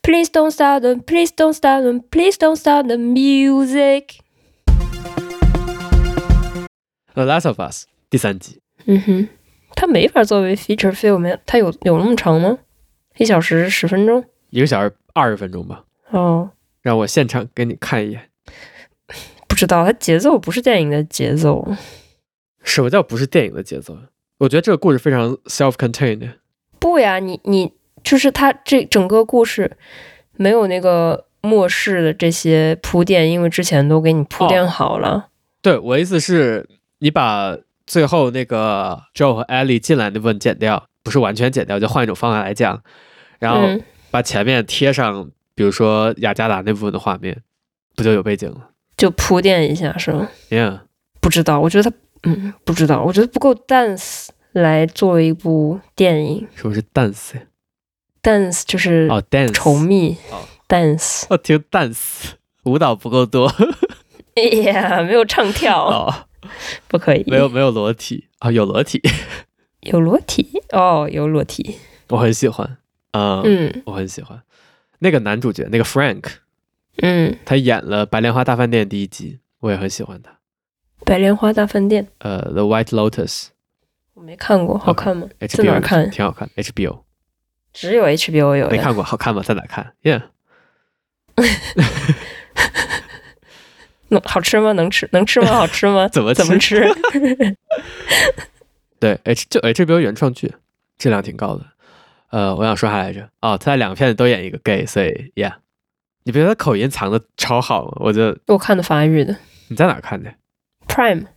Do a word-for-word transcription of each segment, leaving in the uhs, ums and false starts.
Please don't stop them, please don't stop them, please don't stop the music. The Last of Us 第三集。 嗯哼，它没法作為 feature film， 它有有那麼長嗎？一小時十分鐘？ 一個小時二十分鐘吧。 哦， 讓我現場給你看一眼。 不知道，它節奏不是電影的節奏。 什麼叫不是電影的節奏？我覺得這個故事非常 self-contained。不呀，你你就是它這整個故事沒有那個末世的這些鋪墊，因為之前都給你鋪墊好了。哦、 對，我的意思是，你把最後那個 Joe 和 Ellie 進來那部分剪掉，不是完全剪掉，就換一種方法來講，然後把前面貼上，嗯、比如說雅加達那部分的畫面，不就有背景了？就鋪墊一下是嗎 ？Yeah， 不知道，我覺得它，嗯，不知道，我覺得不夠 dance 來作為一部電影。 什麼是 dance？dance 就是哦 dance 稠密哦 dance 我聽 dance 舞蹈不夠多。 哎呀，沒有唱跳哦， 不可以。 沒有沒有裸體啊、哦，有裸體， 有裸體哦，有裸體， 我很喜歡啊，嗯，嗯我很喜歡那個男主角那個 Frank， 嗯， 他演了《白蓮花大飯店》第一集，我也很喜歡他。 白蓮花大飯店， 呃 ，The White Lotus， 我沒看過，好看嗎？ okay, 在哪看？ 挺好看 ，H B O。 只有 H B O 有， 沒看過，好看嗎？在哪看 ？Yeah 好吃嗎？能吃？能吃嗎？好吃嗎？ 怎麼吃怎麼吃？ 對 ，H 就 H B O 原創劇，質量挺高的。呃，我想說啥來着？哦，他在兩個片子都演一個 gay， 所以 Yeah， 你不覺得他口音藏的超好嗎？我就我看的法語的。你在哪看的 ？Prime。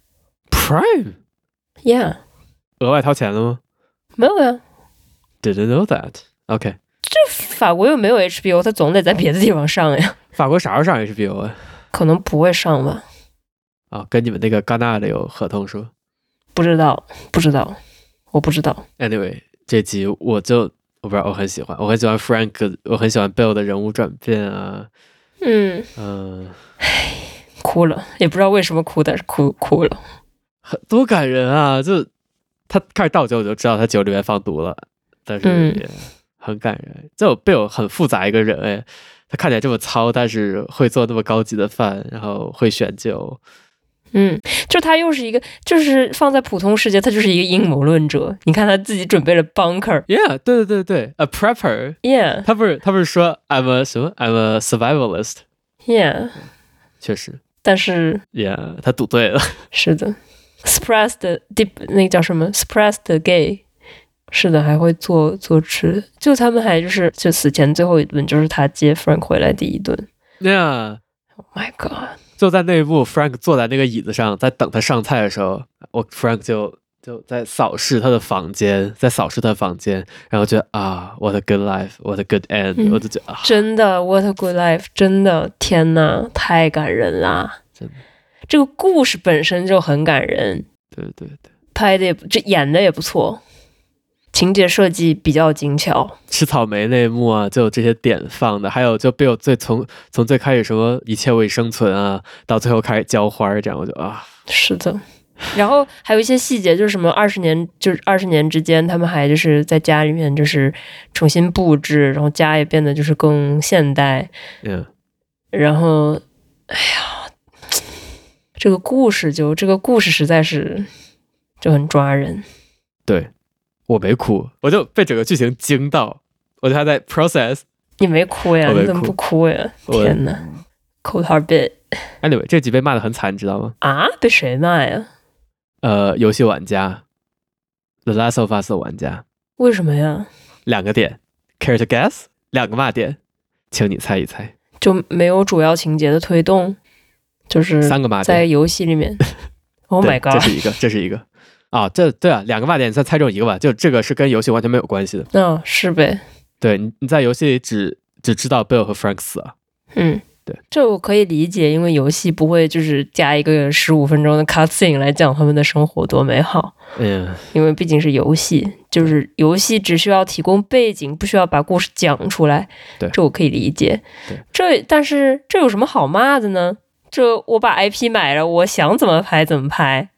Prime。Yeah。額外掏錢了嗎？ 沒有呀。 Didn't know that。OK。 這法國又沒有 H B O， 他總得在別的地方上呀。 法國啥時候上 H B O 啊？ 可能不會上吧。 啊、哦，跟你們那個戛納的有合同說？ 不知道，不知道，我不知道。 Anyway，這集我就我不知道，我很喜歡，我很喜歡 Frank， 我很喜歡 Bill 的人物轉變啊。嗯嗯，唉， 哭了，也不知道為什麼哭，但是哭哭了， 很多感人啊！就他開始倒酒，我就知道他酒裡面放毒了，但是也很感人。嗯、這 Bill 很複雜一個人哎。他看起來這麼糙，但是會做那麼高級的飯，然後會選酒。 嗯，就他又是一個，就是放在普通世界，他就是一個陰謀論者。你看他自己準備了 bunker。 Yeah， 對對對對 ，a prepper。Yeah， 他不是他不是說 I'm a 什麼 I'm a survivalist。Yeah， 確實。但是 ，Yeah， 他賭對了。是的 ，suppressed deep 那個叫什麼 suppressed gay。是的，還會做做吃，就他們還就是就死前最後一頓就是他接 Frank 回來第一頓。Yeah， Oh my god！ 就在那一幕 ，Frank 坐在那個椅子上，在等他上菜的時候，我 Frank 就就在掃視他的房間，在掃視他的房間，然後覺得啊 ，What a good life，What a good end，、嗯、我就覺得、啊、 真的 What a good life， 真的天哪，太感人啦！ 真的， 這個故事本身就很感人。 對對對， 拍的也這演的也不錯。情節設計比較精巧， 吃草莓那一幕啊，就有這些點放的，還有就 Bill 最從從最開始什麼一切為生存啊，到最後開始澆花這樣，我就啊， 是的。然後還有一些細節，就是什麼二十年，就是二十年之間，他們還就是在家裡面就是重新布置，然後家也變得就是更現代。 嗯。 然後，哎呀，這個故事就這個故事實在是就很抓人。 對。我沒哭，我就被整個劇情驚到，我就還在 process。 你沒哭呀？你怎麼不哭呀？天哪 ，cold heart bit。 Anyway， 這集被罵得很慘，你知道嗎？ 啊？被誰罵呀？ 呃，遊戲玩家 ，The Last of Us 的玩家。 為什麼呀？ 兩個點 ，Care to guess？ 兩個罵點，請你猜一猜。 就沒有主要情節的推動，就是三個罵點在遊戲裡面。Oh my god！ 這是一個，這是一個。啊，這對啊，兩個罵點，你再猜中一個吧。就這個是跟遊戲完全沒有關係的。 嗯、哦，是唄。 對，你你在遊戲裡只只知道 Bill 和 Frank 死了。 嗯， 對， 這我可以理解，因為遊戲不會就是加一個十五分鐘的 cutscene 來講他們的生活多美好。 嗯， 因為畢竟是遊戲，就是遊戲只需要提供背景，不需要把故事講出來。 對， 這我可以理解。 對， 這但是這有什麼好罵的呢？這我把 I P 買了，我想怎麼拍怎麼拍。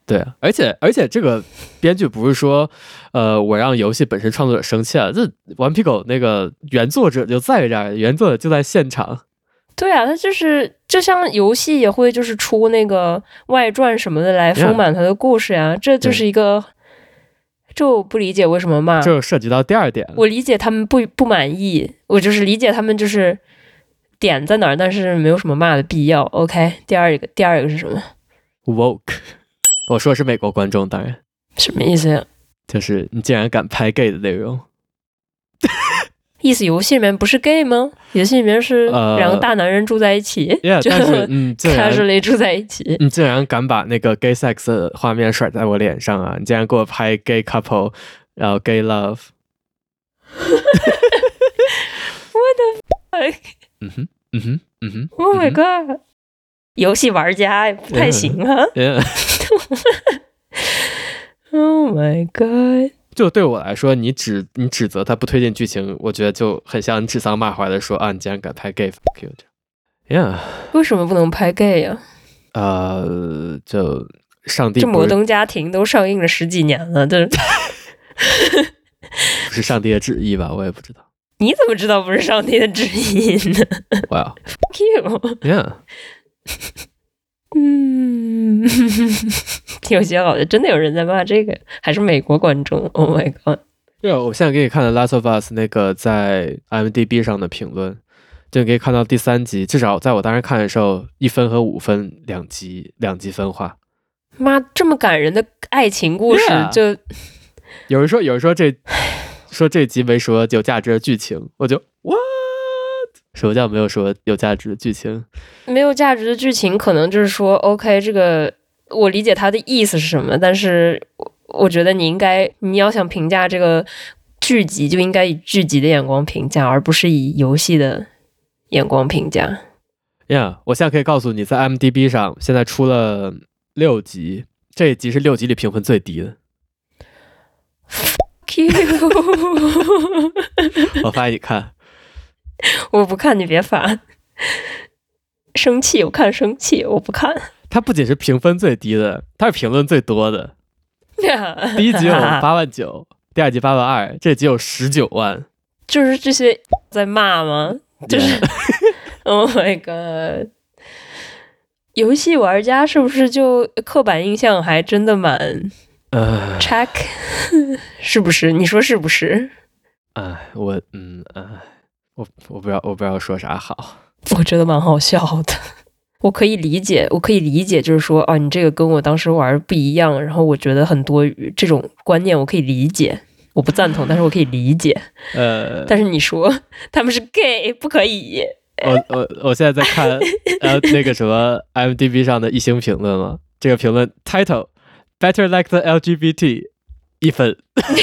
對啊，而且而且這個編劇不是說，呃，我讓遊戲本身創作者生氣了，這頑皮狗那個原作者就在這兒，原作者就在現場。 對啊，他就是就像遊戲也會就是出那個外傳什麼的來豐滿他的故事呀、啊， yeah, 這就是一個，這我不理解為什麼罵。 這涉及到第二點， 我理解他們不不滿意，我就是理解他們就是點在哪兒，但是沒有什麼罵的必要。OK， 第二個第二個是什麼 ？Woke。我說的是美國觀眾，當然。 什麼意思呀？ 就是你竟然敢拍 gay 的內容。 意思遊戲裡面不是 gay 嗎？遊戲裡面是兩個大男人住在一起， 呃、yeah, 但是嗯 ，casually 住在一起。 你竟然敢把那個 gay sex 的畫面甩在我臉上啊！你竟然給我拍 gay couple， 然後 gay love。 What the fuck？ 嗯哼，嗯哼，嗯哼。 Oh my god！、嗯、遊戲玩家也不太行啊。 Yeah, yeah. Oh my god！ 就對我來說，你指你指責他不推薦劇情，我覺得就很像你指桑罵槐的說啊，你竟然敢拍 gay，fuck you。Yeah， 為什麼不能拍 gay 呀、 啊？呃，就上帝不， 這摩登家庭都上映了十幾年了，這不是上帝的旨意吧？我也不知道。 你怎麼知道不是上帝的旨意呢？ 哇 ，fuck you。Yeah。嗯，有些好像真的有人在罵這個，還是美國觀眾 ？Oh my god！ 對，我現在給你看的《Last of Us》那個在 I M D B 上的評論，就可以看到第三集，至少在我當時看的時候，一分和五分兩集兩集分化。 媽，這麼感人的愛情故事， yeah. 就有人說，有人說這說這集沒說有價值的劇情，我就哇。什麼叫沒有說有價值的劇情？ 沒有價值的劇情，可能就是說 ，OK， 這個我理解他的意思是什麼，但是我覺得你應該，你要想評價這個劇集，就應該以劇集的眼光評價，而不是以遊戲的眼光評價。 Yeah， 我現在可以告訴你，在 I M D B 上現在出了六集，這一集是六集裡評分最低的。 Fuck you！ 我發給你看。 我不看，你別煩。生氣，我看生氣，我不看。 它不僅是評分最低的，它是評論最多的。第一集有八萬九，第二集八萬二，這集有十九萬。 就是這些在罵嗎？就是 ，Oh my god！ 遊戲玩家是不是就刻板印象還真的蠻呃 check？ 是不是？你說是不是？ 哎，我嗯哎。我我不知道我不知道說啥好， 我覺得蠻好笑的。我可以理解，我可以理解，就是說啊，你這個跟我當時玩不一樣，然後我覺得很多餘這種觀念，我可以理解。我不贊同，但是我可以理解。呃，但是你說他們是 gay， 不可以。 我我我現在在看呃那個什麼 I M D B 上的一星評論嘛，這個評論 title Better Like the L G B T 一分。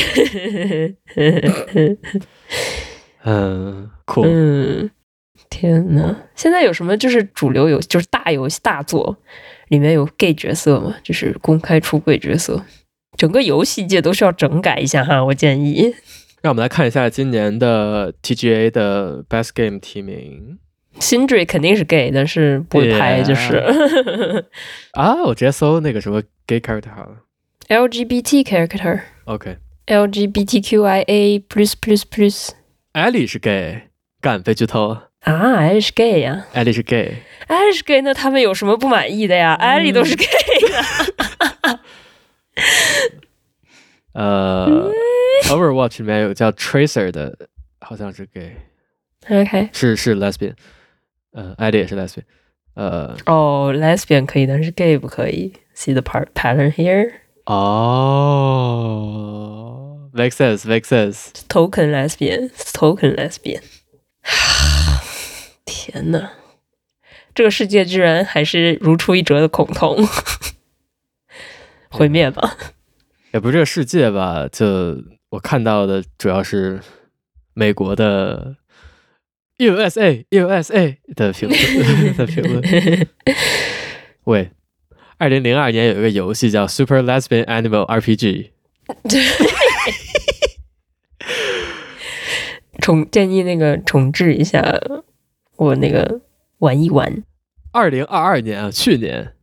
嗯，酷。 嗯，天哪！現在有什麼就是主流遊戲，就是大遊戲大作裡面有 gay 角色嗎？就是公開出櫃角色，整個遊戲界都需要整改一下哈，我建議。 讓我們來看一下今年的 T G A 的 Best Game 提名。 Sindri 肯定是 gay， 但是不會拍，就是。Yeah. 啊，我直接搜那個什麼 gay character 好了。 L G B T character。OK。L G B T Q I A plus plus plus。 艾莉是 gay， 幹被劇透啊！艾莉是 gay 呀、啊， 艾莉是 gay， 艾莉是 gay， 那他們有什麼不滿意的呀？艾、嗯、莉都是 gay 的。 呃、嗯、，Overwatch 裡面有叫 Tracer 的，好像是 gay，OK， 是是 lesbian， 呃，艾莉也是 lesbian， 呃， 哦、oh, ，lesbian 可以，但是 gay 不可以。See the part pattern here？ 哦。Makes sense, makes sense. Token lesbian, token lesbian. 天哪，這個世界居然還是如出一轍的恐同，毀滅吧？ 也不是這個世界吧？就我看到的主要是美國的 U S A, U S A 的評論的評論。喂，二零零二年有一個遊戲叫 Super Lesbian Animal R P G。 重建議那個重置一下，我那個玩一玩。 二零二二年啊，去年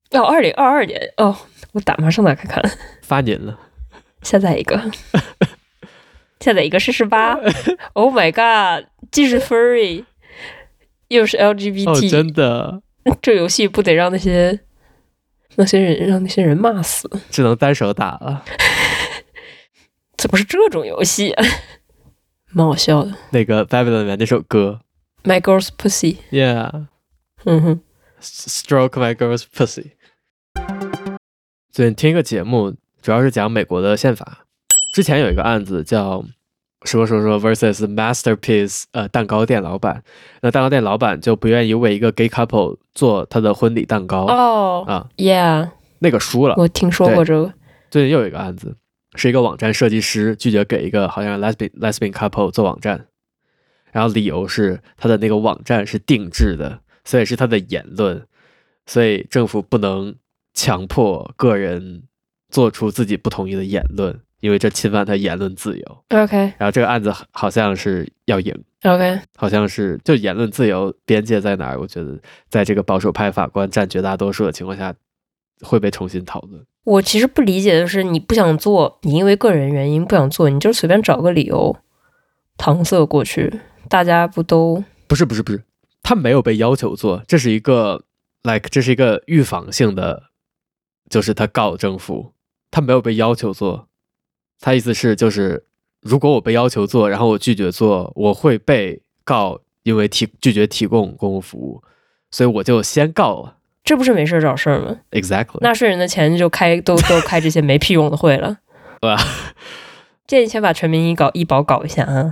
哦，二零二二年哦，我打马上打開看， 發年了， 下載一個，下載一個試試吧。Oh my god，既是 furry，又是 L G B T，、 哦、真的， 這遊戲不得讓那些那些人讓那些人罵死？ 只能單手打了。 怎麼是這種遊戲、啊？蠻好笑的。那個 Babylon 裡面那首歌 ，My Girl's Pussy。Yeah， 嗯哼 ，Stroke My Girl's Pussy。最近聽一個節目，主要是講美國的憲法。之前有一個案子叫說說說 versus Masterpiece， 呃，蛋糕店老闆。那蛋糕店老闆就不願意為一個 gay couple 做他的婚禮蛋糕。 哦、oh, 啊 ，Yeah， 那個輸了。 我聽說過這個。 最近又有一個案子，是一個網站設計師拒絕給一個好像 lesbian lesbian couple 做網站，然後理由是他的那個網站是定制的，所以是他的言論，所以政府不能強迫個人做出自己不同意的言論，因為這侵犯他言論自由。 OK， 然後這個案子好像是要贏。 OK， 好像是就言論自由邊界在哪兒？我覺得在這個保守派法官佔絕大多數的情況下，會被重新討論。 我其實不理解的是，你不想做，你因為個人原因不想做，你就隨便找個理由搪塞過去，大家不都不是不是不是，他沒有被要求做，這是一個 like 這是一個預防性的，就是他告政府，他沒有被要求做，他意思是就是如果我被要求做，然後我拒絕做，我會被告，因為提拒絕提供公共服務，所以我就先告了。 這不是沒事找事兒嗎 ？Exactly， 納稅人的錢就開都都開這些沒屁用的會了。 對吧？ 建議先把全民醫搞醫保搞一下啊。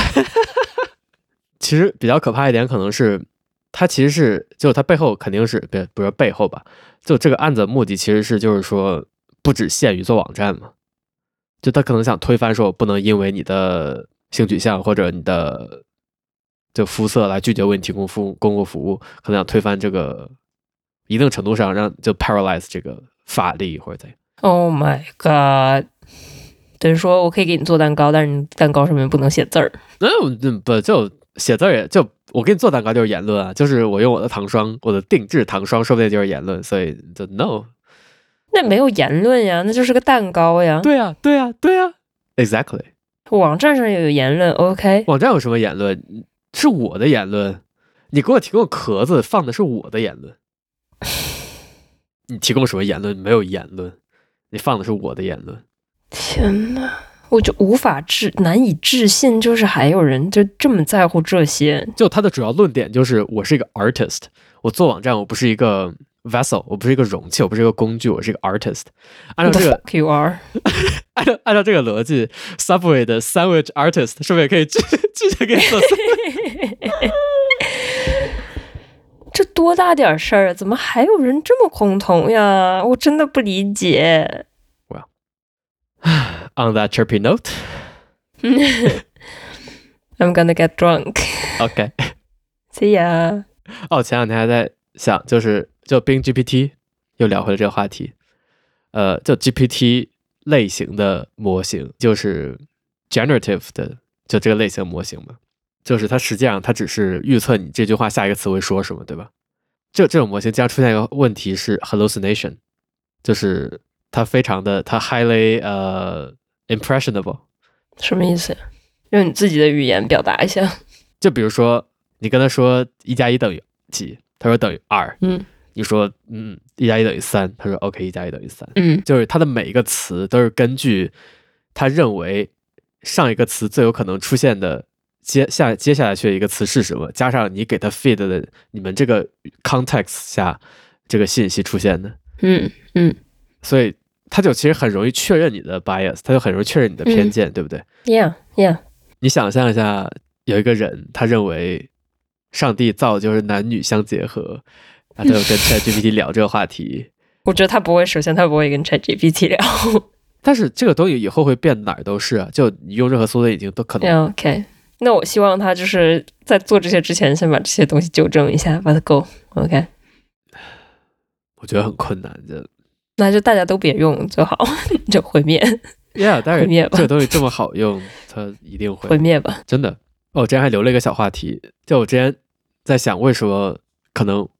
其實比較可怕一點，可能是他其實是就他背後肯定是別不是背後吧？就這個案子的目的其實是就是說不只限於做網站嘛，就他可能想推翻說我不能因為你的性取向或者你的就膚色來拒絕為你提供服務公共服務，可能想推翻這個。一定程度上讓就 paralyze 這個法律或者怎樣。Oh my god！ 等於說我可以給你做蛋糕，但是你蛋糕上面不能寫字兒。 嗯，不就寫字兒也就我給你做蛋糕就是言論啊，就是我用我的糖霜，我的定制糖霜，說不定就是言論，所以就 no。 那沒有言論呀，那就是個蛋糕呀。 對呀，對呀，對呀 ，exactly。 網站上也有言論 ，OK。 網站有什麼言論？是我的言論。你給我提供殼子，放的是我的言論。你提供什麼言論？沒有言論，你放的是我的言論。 天哪，我就無法置難以置信，就是還有人就這麼在乎這些。 就他的主要論點就是，我是一個 artist， 我做網站，我不是一個 vessel， 我不是一個容器，我不是一個工具，我是一個 artist。按照這個 ，The fuck you are？ 按照按照這個邏輯 ，Subway 的 sandwich artist 是不是也可以拒拒絕給你做？ 這多大點事兒啊！怎麼還有人這麼恐同呀？我真的不理解。 Well, on that chirpy note, I'm gonna get drunk. OK, see ya. 哦，前兩天還在想，就是就 Bing G P T 又聊回了這個話題。呃，就 G P T 類型的模型，就是 generative 的，就這個類型模型嘛。就是它實際上它只是預測你這句話下一個詞會說什麼，對吧？這這種模型經常出現一個問題是 hallucination， 就是它非常的它 highly 呃、uh, impressionable。 什麼意思？用你自己的語言表達一下。 就比如說你跟他說一加一等於幾，他說等於二。嗯，你說嗯一加一等於三，他說 OK 一加一等於三。嗯，就是它的每一個詞都是根據他認為上一個詞最有可能出現的。接下接下來去的一個詞是什麼？加上你給他 feed 的你們這個 context 下這個信息出現的，嗯嗯，所以他就其實很容易確認你的 bias， 他就很容易確認你的偏見，嗯、對不對 ？Yeah yeah。 你想象一下，有一個人他認為上帝造的就是男女相結合，他就跟 ChatGPT 聊這個話題。 我覺得他不會，首先他不會跟 ChatGPT 聊。 但是這個東西以後會變哪兒都是啊，就你用任何搜索引擎都可能。 Yeah, OK。那我希望他就是在做這些之前，先把這些東西糾正一下，把它 go OK。 我覺得很困難，就那就大家都別用就好，就毀滅。 Yeah， 當然， 毀滅吧。 這個東西這麼好用，它一定會毀滅吧。 真的。哦，我之前還留了一個小話題，就我之前在想，為什麼可能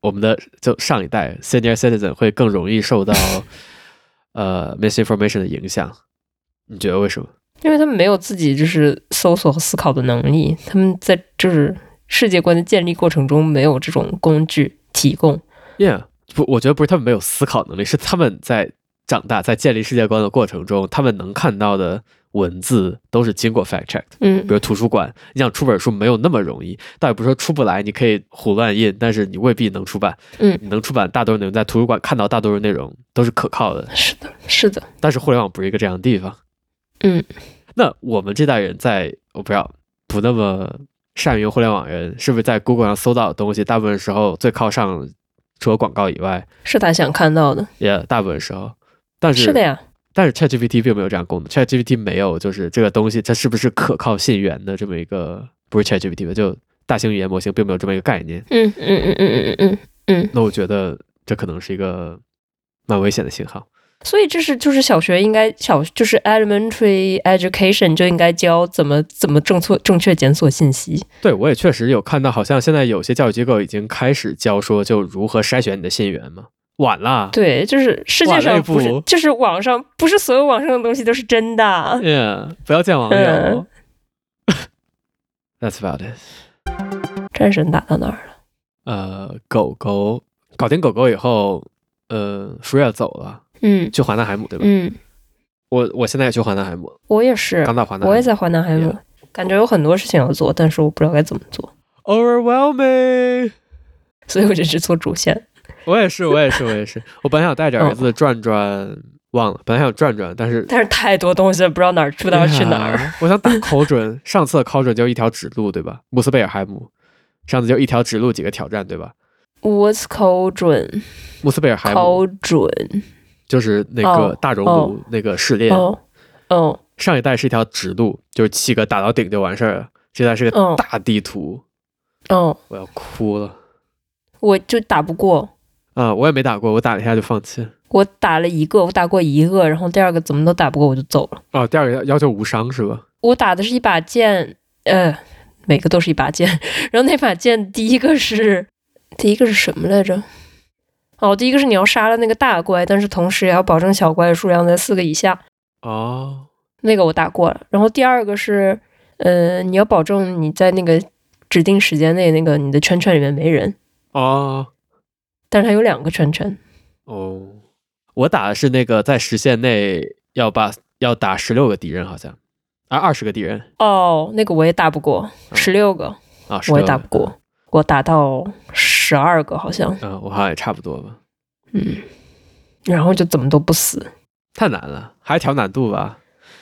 我們的就上一代 senior citizen 會更容易受到呃 misinformation 的影響，你覺得為什麼？ 因為他們沒有自己就是搜索和思考的能力，他們在就是世界觀的建立過程中沒有這種工具提供。 Yeah， 不，我覺得不是他們沒有思考能力，是他們在長大在建立世界觀的過程中，他們能看到的文字都是經過 fact check 的。嗯，比如圖書館，你想出本書沒有那麼容易，倒也不是說出不來，你可以胡亂印，但是你未必能出版。嗯，你能出版大多數內容，在圖書館看到大多數內容都是可靠的。 是的，是的。 但是互聯網不是一個這樣的地方。 嗯， 那我們這代人在我不知道不那麼善于用互聯網人，是不是在 Google 上搜到的東西，大部分時候最靠上，除了廣告以外， 是他想看到的。 也、yeah, 大部分時候，但是是的呀。 但是 ChatGPT 並沒有這樣功能 ，ChatGPT 沒有就是這個東西它是不是可靠信源的這麼一個，不是 ChatGPT 就大型語言模型並沒有這麼一個概念。 嗯嗯嗯嗯嗯嗯嗯。 那我覺得這可能是一個蠻危險的信號。 所以這是就是小學應該小就是 elementary education 就應該教怎麼怎麼正確正確檢索信息。 對，我也確實有看到，好像現在有些教育機構已經開始教說就如何篩選你的信源嘛。晚了，對， 就是世界上不是，就是網上不是所有網上的東西都是真的。 Yeah， 不要見網友。嗯、That's about it。 戰神打到哪兒了？ 呃，狗狗搞定狗狗以後，呃 ，Freya 走了，嗯，去華納海姆對吧？嗯，我我現在也去華納海姆， 我也是， 剛到華納， 我也在華納海姆， yeah. 感覺有很多事情要做，但是我不知道該怎麼做。 Overwhelming， 所以我就只做主線。 我也是，我也是，我也是。我本來想帶着兒子轉轉，哦、忘了。本來想轉轉，但是但是太多東西了，不知道哪兒不知道去哪兒。 啊、我想打考準，上次的考準就一條指路，對吧？穆斯貝爾海姆，上次就一條指路幾個挑戰，對吧 ？What's 考準？ 穆斯貝爾海姆考準就是那個大熔爐那個試煉。 哦，哦上一代是一條指路，就是七個打到頂就完事兒了。這代是個大地圖。 哦， 我要哭了。 我就打不過。 啊、嗯，我也沒打過，我打了一下就放棄。 我打了一個，我打過一個，然後第二個怎麼都打不過，我就走了。 哦，第二個要求無傷是吧？ 我打的是一把劍，呃，每個都是一把劍。然後那把劍第一個是第一個是什麼來着？哦，第一個是你要殺了那個大怪，但是同時也要保證小怪的數量在四個以下。 哦， 那個我打過了。然後第二個是，呃，你要保證你在那個指定時間內，那個你的圈圈裡面沒人。 哦。 但是它有兩個圈圈。 哦，我打的是那個在時限內要把要打十六個敵人，好像啊二十個敵人。哦， 那個我也打不過，十六個啊， 我也打不過，我打到十二個好像。 嗯，我好像也差不多吧。 嗯，然後就怎麼都不死， 太難了，還調難度吧。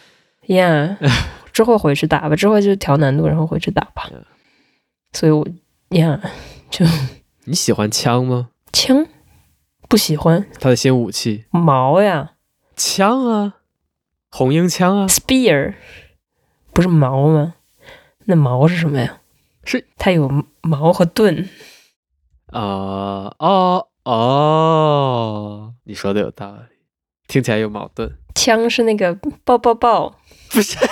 Yeah， 之後回去打吧，之後就調難度，然後回去打吧。Yeah. 所以我呀、yeah, 就你喜歡槍嗎？ 槍不喜歡。 他的新武器矛呀。 槍啊，紅纓槍啊。 Spear 不是矛嗎？那矛是什麼呀？ 是它有矛和盾。 啊、uh, 哦哦，你說的有道理，聽起來有矛盾。 槍是那個爆爆爆， 不是？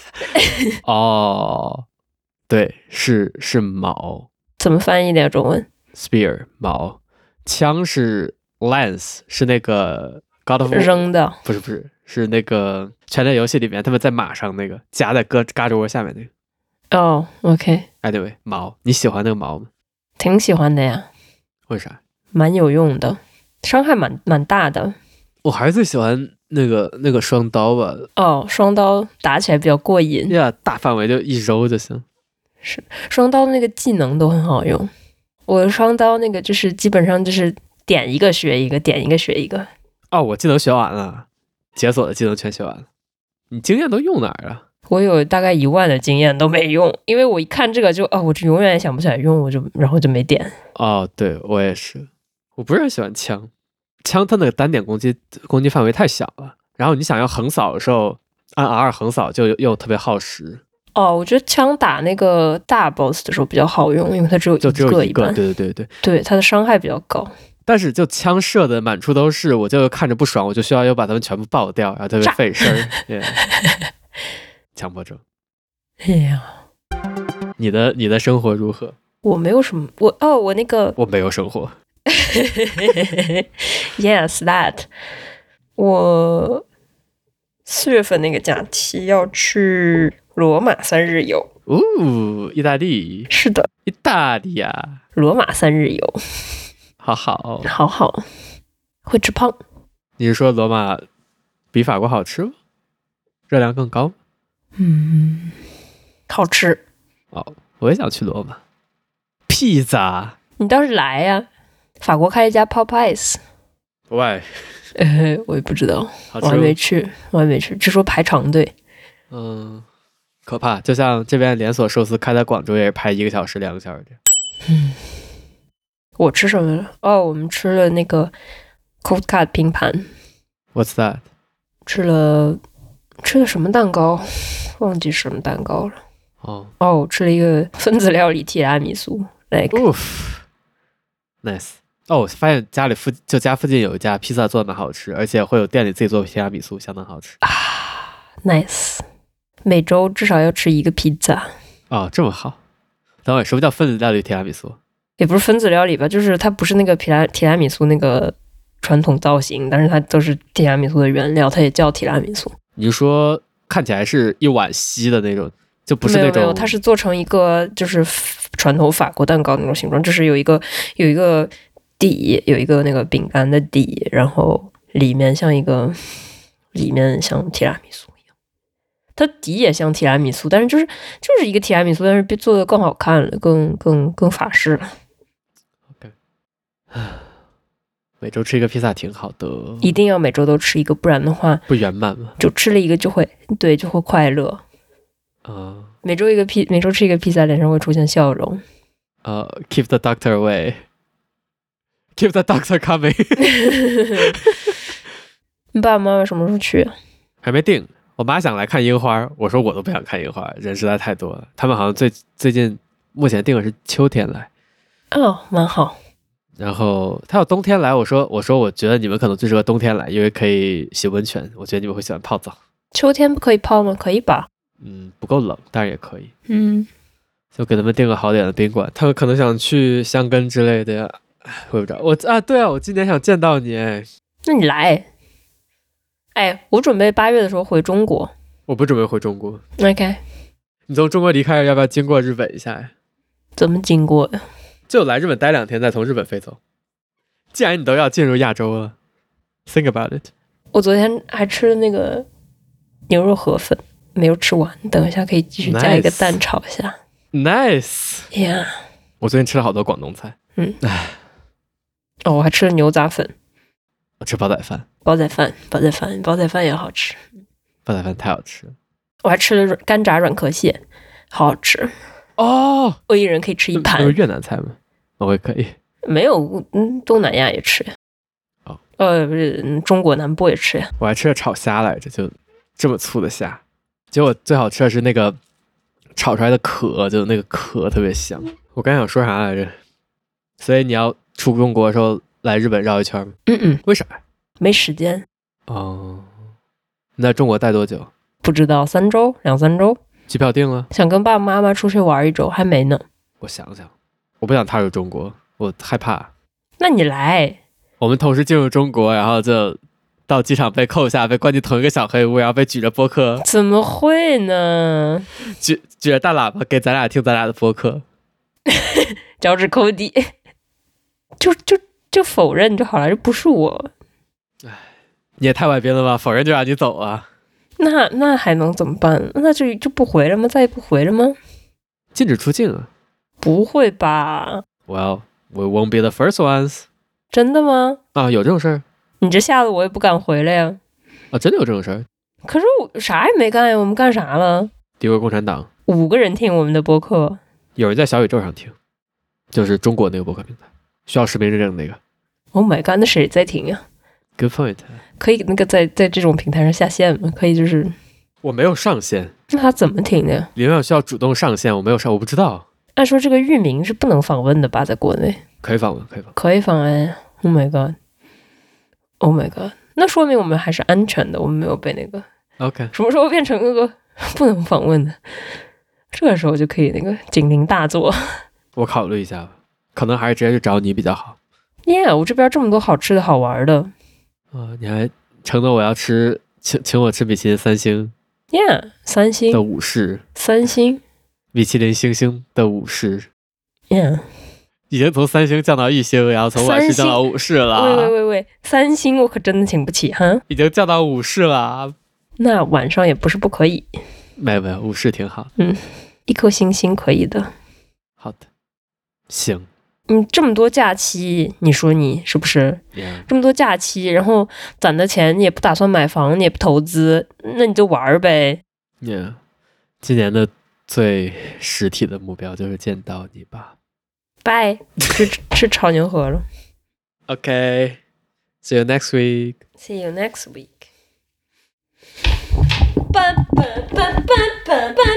哦，對，是是矛。怎麼翻譯的呀？中文 ？Spear 矛。槍是 lance， 是那個 God of War 扔的，不是不是，是那個拳擊遊戲裡面他們在馬上那個夾在胳胳肢窩下面那個。哦、oh, ，OK。哎，對，矛，你喜歡那個矛嗎？挺喜歡的呀。為啥？蠻有用的，傷害蠻蠻大的。我還是最喜歡那個那個雙刀吧。哦，雙刀打起來比較過癮。呀、yeah, ，大範圍就一揉就行。是，雙刀那個技能都很好用。我的雙刀那個就是基本上就是點一個學一個，點一個學一個。哦，我技能學完了，解鎖的技能全學完了。你經驗都用哪兒啊？我有大概一萬的經驗都沒用，因為我一看這個就哦，我就永遠也想不起來用，我就然後就沒點。哦，對，我也是，我不是很喜歡槍，槍它那個單點攻擊攻擊範圍太小了，然後你想要橫掃的時候按 R 橫掃就又特別耗時。哦，我覺得槍打那個大 boss 的時候比較好用，因為它只有一個一般，就只有一個，對对對對，對它的傷害比較高。但是就槍射的滿處都是，我就看着不爽，我就需要又把它們全部爆掉，然後特別費事兒。Yeah. 強迫症。哎呀，你的你的生活如何？我沒有什麼，我哦，我那個我沒有生活。 Yes, that。我四月份那個假期要去羅馬三日遊。 哦，意大利。 是的， 意大利啊， 羅馬三日遊， 好好， 好好，會吃胖。 你是說羅馬比法國好吃嗎？熱量更高？ 嗯，好吃。 哦，我也想去羅馬。披薩， 你倒是來呀、啊！法國開了一家 Popeyes。 喂， 呃，我也不知道，我還沒去，我還沒去，據說排長隊。 嗯，可怕。就像這邊連鎖壽司開在廣州也是排一個小時、兩個小時的。 嗯，我吃什麼了？哦，我們吃了那個 Cold Cut 拼盤。 What's that？ 吃了吃了什麼蛋糕？忘記什麼蛋糕了。 哦哦，吃了一個分子料理提拉米蘇。Like， nice。哦，我發現家裡附就家附近有一家披薩做的蠻好吃，而且會有店裡自己做提拉米蘇，相當好吃啊。Nice， 每周至少要吃一個披薩。 哦，這麼好。等會，什麼叫分子料理提拉米蘇？ 也不是分子料理吧，就是它不是那個提拉提拉米蘇那個傳統造型，但是它都是提拉米蘇的原料，它也叫提拉米蘇。 你說看起來是一碗稀的那種，就不是那種。 沒有沒有，它是做成一個就是傳統法國蛋糕那種形狀，就是有一個有一個。底有一個那個餅乾的底，然後裡面像一個裡面像提拉米蘇一樣，它底也像提拉米蘇，但是就是就是一個提拉米蘇，但是被做的更好看了，更更更法式了。 OK， 每周吃一個披薩挺好的， 一定要每周都吃一個，不然的話不圓滿嘛。 就吃了一個就會對就會快樂啊、 呃， 每周一個披每周吃一個披薩，臉上會出現笑容。 呃、uh, ，keep the doctor away。Keep the doctor coming 。 你爸爸媽媽什麼時候去？ 還沒定。我媽想來看櫻花，我說我都不想看櫻花，人實在太多了。他們好像最最近目前定的是秋天來。 哦，蠻好。 然後他要冬天來，我說我說我覺得你們可能最適合冬天來，因為可以洗溫泉。我覺得你們會喜歡泡澡。秋天不可以泡嗎？可以吧？ 嗯，不夠冷，但是也可以。 嗯， 就給他們訂個好點的賓館。他們可能想去香根之類的呀。我不知道，我啊，對啊，我今年想見到你， 那你來，哎，我準備八月的時候回中國， 我不準備回中國。 OK， 你從中國離開，要不要經過日本一下呀？ 怎麼經過呀？ 就來日本待兩天，再從日本飛走。既然你都要進入亞洲了 ，think about it。 我昨天還吃了那個牛肉河粉，沒有吃完，等一下可以繼續加一個蛋炒一下。 Nice，Yeah。我最近吃了好多廣東菜， 嗯，唉。哦，我還吃了牛雜粉， 我吃煲仔飯， 煲仔飯，煲仔飯，煲仔飯也好吃， 煲仔飯太好吃了。 我還吃了乾炸軟殼蟹，好好吃哦。 我一人可以吃一盤。 那是越南菜嗎？我也可以。 沒有，嗯，東南亞也吃呀。 哦， 呃，不是，中國南部也吃呀。 我還吃了炒蝦來着，就這麼粗的蝦，結果最好吃的是那個炒出來的殼，就那個殼特別香。我剛想說啥來着？所以你要出中國的時候來日本繞一圈嗎？ 嗯嗯。為啥？沒時間。 哦。你在中國待多久？ 不知道，三周，兩三周。 機票訂了？ 想跟爸爸媽媽出去玩一周，還沒呢。 我想想，我不想踏入中國，我害怕。 那你來。 我們同時進入中國，然後就到機場被扣下，被關進同一個小黑屋，然後被舉着播客。 怎麼會呢？ 舉舉着大喇叭給咱倆聽咱倆的播客。 腳趾摳地。就就就否認就好了，這不是我。 唉，你也太外邊了吧？否認就讓你走啊？ 那那還能怎麼辦？那就就不回了嗎？再也不回了嗎？ 禁止出境啊？ 不會吧 ？Well, we won't be the first ones。 真的嗎？ 啊，有這種事兒？ 你這嚇得我也不敢回來呀。 啊，真的有這種事兒？ 可是我啥也沒幹呀，我們幹啥了？ 詆毀共產黨。五個人聽我們的播客， 有人在小宇宙上聽，就是中國那個播客平台。需要實名認證的那個 Oh my god， 那誰在聽呀？ Good point。 可以那個在在這種平台上下線嗎？可以就是我沒有上線。 那他怎麼聽的？裡面需要主動上線，我沒有上，我不知道。 按說這個域名是不能訪問的吧？在國內可以訪問，可以訪問， 可以訪問。Oh my god Oh my god， 那說明我們還是安全的，我們沒有被那個 OK。 什麼時候變成那個不能訪問的？這個時候就可以那個警鈴大作。 我考慮一下吧，可能還是直接去找你比較好。 Yeah， 我這邊這麼多好吃的好玩的。 哦，你還承諾我要吃，請請我吃米其林三星。 Yeah， 三星的武士。 三星。 米其林星星的武士。 Yeah。 已經從三星降到一星，然後從晚市降到五士了。 喂喂喂喂，三星我可真的請不起哈。 已經降到五士了。 那晚上也不是不可以。 沒有沒有，五士挺好。 嗯，一顆星星可以的。 好的，行。 嗯，這麼多假期，你說你是不是？ Yeah. 這麼多假期，然後攢的錢你也不打算買房，你也不投資，那你就玩唄。 Yeah， 今年的最實體的目標就是見到你吧。 拜，吃吃炒牛河了。 Okay, see you next week. See you next week. 拜拜拜拜拜拜。